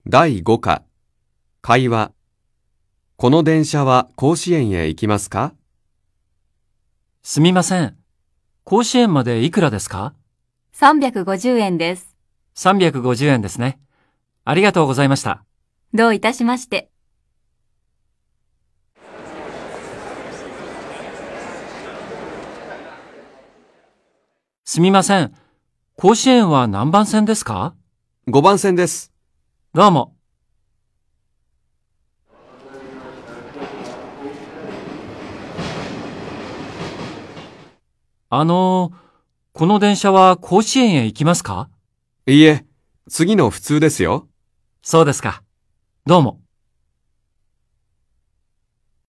第5課、会話。この電車は甲子園へ行きますか？ すみません。甲子園までいくらですか？ 350円です。 350円ですね。ありがとうございました。 どういたしまして。 すみません。甲子園は何番線ですか ？5番線です。 どうも。この電車は甲子園へ行きますか？ いいえ、次の普通ですよ。 そうですか。どうも。